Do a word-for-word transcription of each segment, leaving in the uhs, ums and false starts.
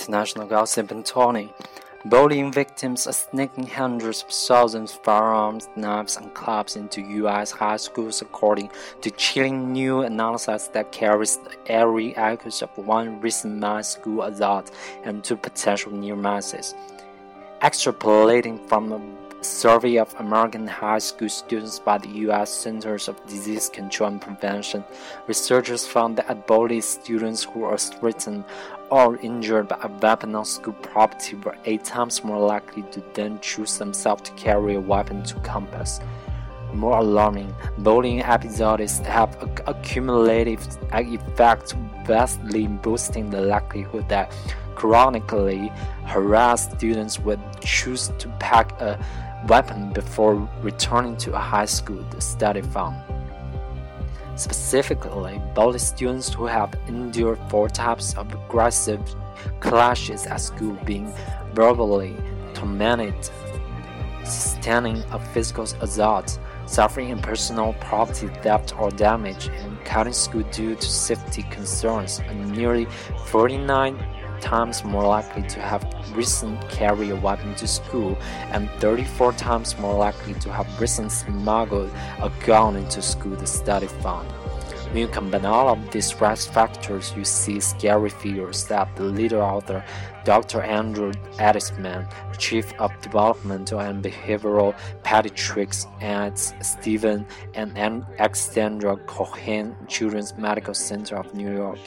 International Gossip and Tony. Bullying victims are sneaking hundreds of thousands of firearms, knives, and clubs into U S high schools, according to chilling new analysis that carries the eerie echoes of one recent mass school assault and two potential near misses. Extrapolating from a survey of American high school students by the U S Centers of Disease Control and Prevention, researchers found that bullied students who are threatened or injured by a weapon on school property were eight times more likely to then choose themselves to carry a weapon to campus. More alarming, bullying episodes have a, a cumulative effect, vastly boosting the likelihood that chronically harassed students would choose to pack a weapon before returning to a high school, the study found. Specifically, bullied students who have endured four types of aggressive clashes at school, being verbally tormented, sustaining a physical assault, suffering impersonal property theft or damage, and cutting school due to safety concerns, are nearly forty-nine times more likely to have recently carried a weapon to school and thirty-four times more likely to have recently smuggled a gun into school, the study found. When you combine all of these risk factors, you see scary figures that the lead author, Doctor Andrew Eddisman, Chief of Developmental and Behavioral Pediatrics at Stephen and Alexandra Cohen Children's Medical Center of New York.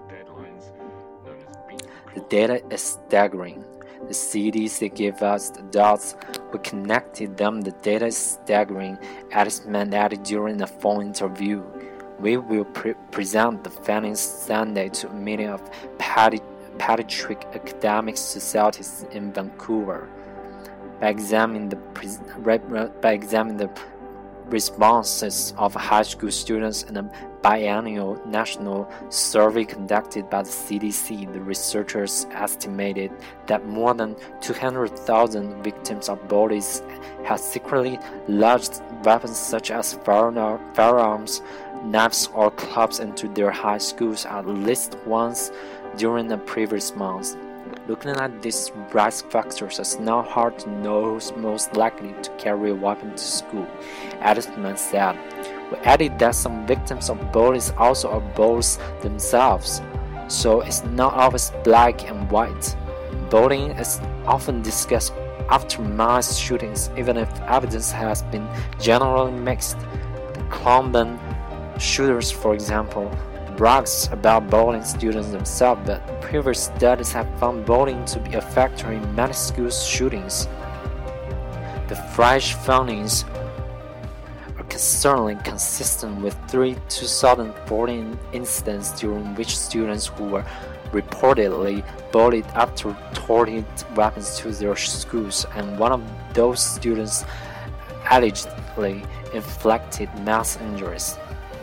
The data is staggering. The C D C gave us the dots. We connected them. The data is staggering, Eddisman added during a phone interview. We will pre- present the findings Sunday to a meeting of pedi- pediatric academic societies in Vancouver. By examining the pre- by examining the responses of high school students in a biennial national survey conducted by the C D C, the researchers estimated that more than two hundred thousand victims of bullies had secretly lodged weapons such as firearms, knives, or clubs into their high schools at least once during the previous month. Looking at these risk factors, it's not hard to know who's most likely to carry a weapon to school, Eddisman said. We added that some victims of bullies also are bullies themselves, so it's not always black and white. Bullying is often discussed after mass shootings, even if evidence has been generally mixed. The Columbine shooters, for example, brags about bullying students themselves, but previous studies have found bullying to be a factor in many school shootings. The fresh findings are certainly consistent with three two thousand fourteen incidents during which students who were reportedly bullied after toting weapons to their schools, and one of those students allegedly inflicted mass injuries.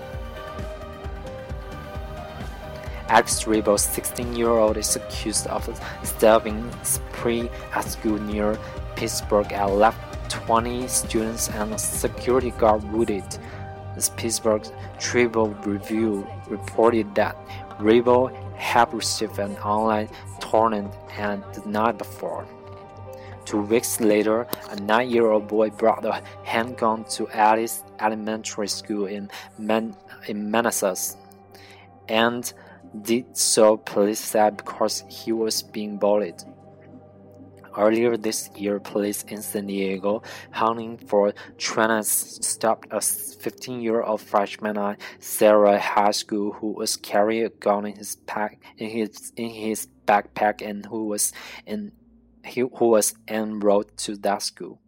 Alex Rebo, sixteen-year-old, is accused of a stabbing spree at school near Pittsburgh and left twenty students and a security guard wounded. The Pittsburgh Tribune Review reported that Rebo had received an online torment and the night before. Two weeks later, a nine-year-old boy brought a handgun to Alice Elementary School in, Man- in Manassas, and did so, police said, because he was being bullied. Earlier this year, police in San Diego, hunting for trainers, stopped a fifteen-year-old freshman at Sarah High School who was carrying a gun in his pack in his in his backpack and who was in he, who was enrolled to that school.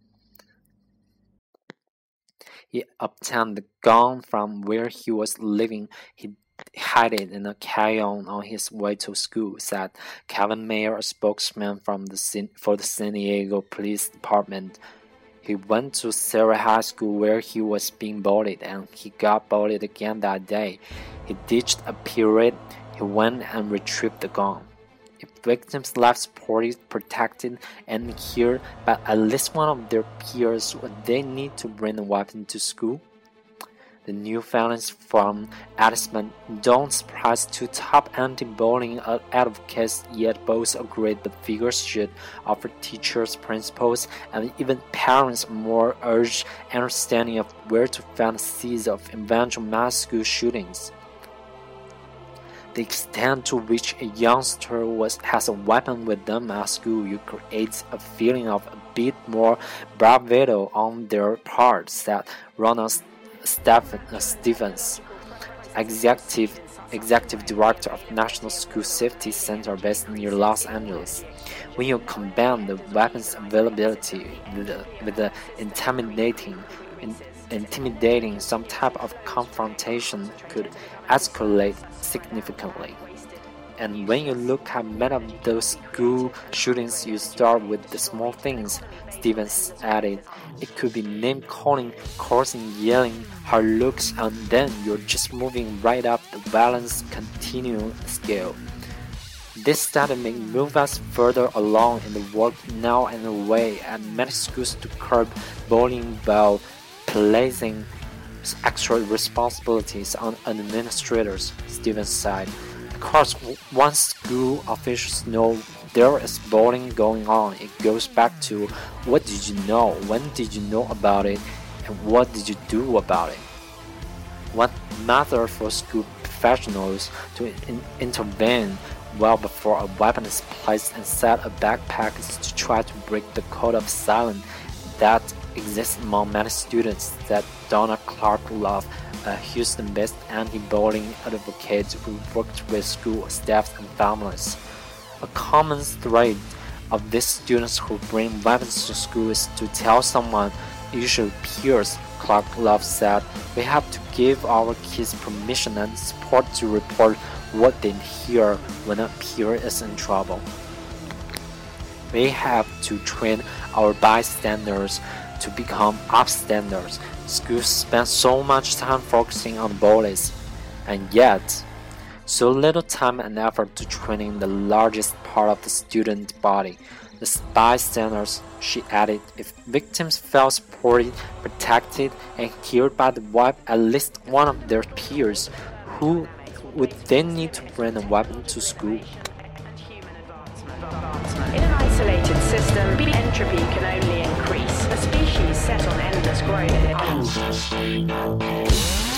He obtained the gun from where he was living. He hid it in a carry-on on his way to school, said Kevin Mayer, a spokesman from the for the San Diego Police Department. He went to Sarah High School where he was being bullied, and he got bullied again that day. He ditched a period. He went and retrieved the gun. If victims left supported, protected, and cared by at least one of their peers, would they need to bring a weapon to school? The new findings from assessment don't surprise two top anti-bullying advocates, yet both agree that figures should offer teachers, principals, and even parents more urgent understanding of where to find the seeds of eventual mass school shootings. The extent to which a youngster was, has a weapon with them at school, you create a feeling of a bit more bravado on their part, said Ronald Stevens, executive, executive director of National School Safety Center based near Los Angeles. When you combine the weapons availability with the, with the intimidating, in, intimidating, some type of confrontation could escalate significantly. And when you look at many of those school shootings, you start with the small things, Stevens added. It could be name-calling, cursing, yelling, hard looks, and then you're just moving right up the violence continuum scale. This study may move us further along in the work now in a way at many schools to curb bullying while placing extra responsibilities on administrators, Stevens said. Because once school officials know there is bullying going on, it goes back to what did you know, when did you know about it, and what did you do about it. One method for school professionals to in intervene well before a weapon is placed inside a backpack is to try to break the code of silence that exists among many students, that Donna Clark Love, a Houston-based anti-bullying advocate who worked with school staff and families. A common thread of these students who bring weapons to school is to tell someone, usually peers, Clark Love said. We have to give our kids permission and support to report what they hear when a peer is in trouble. We have to train our bystanders to become upstanders. Schools spend so much time focusing on bullies, and yet so little time and effort to training the largest part of the student body, the bystanders, she added. If victims felt supported, protected, and heard by the wife at least one of their peers, who would they need to bring a weapon to school? In an isolated system, entropy can only increase. A species set on endless growth.